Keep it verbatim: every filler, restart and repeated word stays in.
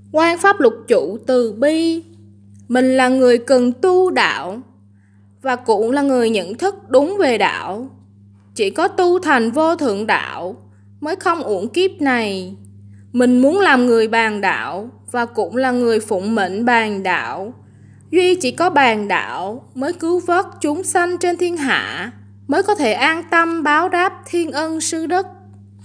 Quan Pháp Lục Trụ từ bi. Mình là người cần tu đạo, và cũng là người nhận thức đúng về đạo. Chỉ có tu thành vô thượng đạo mới không uổng kiếp này. Mình muốn làm người bàn đạo, và cũng là người phụng mệnh bàn đạo. Duy chỉ có bàn đạo mới cứu vớt chúng sanh trên thiên hạ, mới có thể an tâm báo đáp thiên ân sư đức.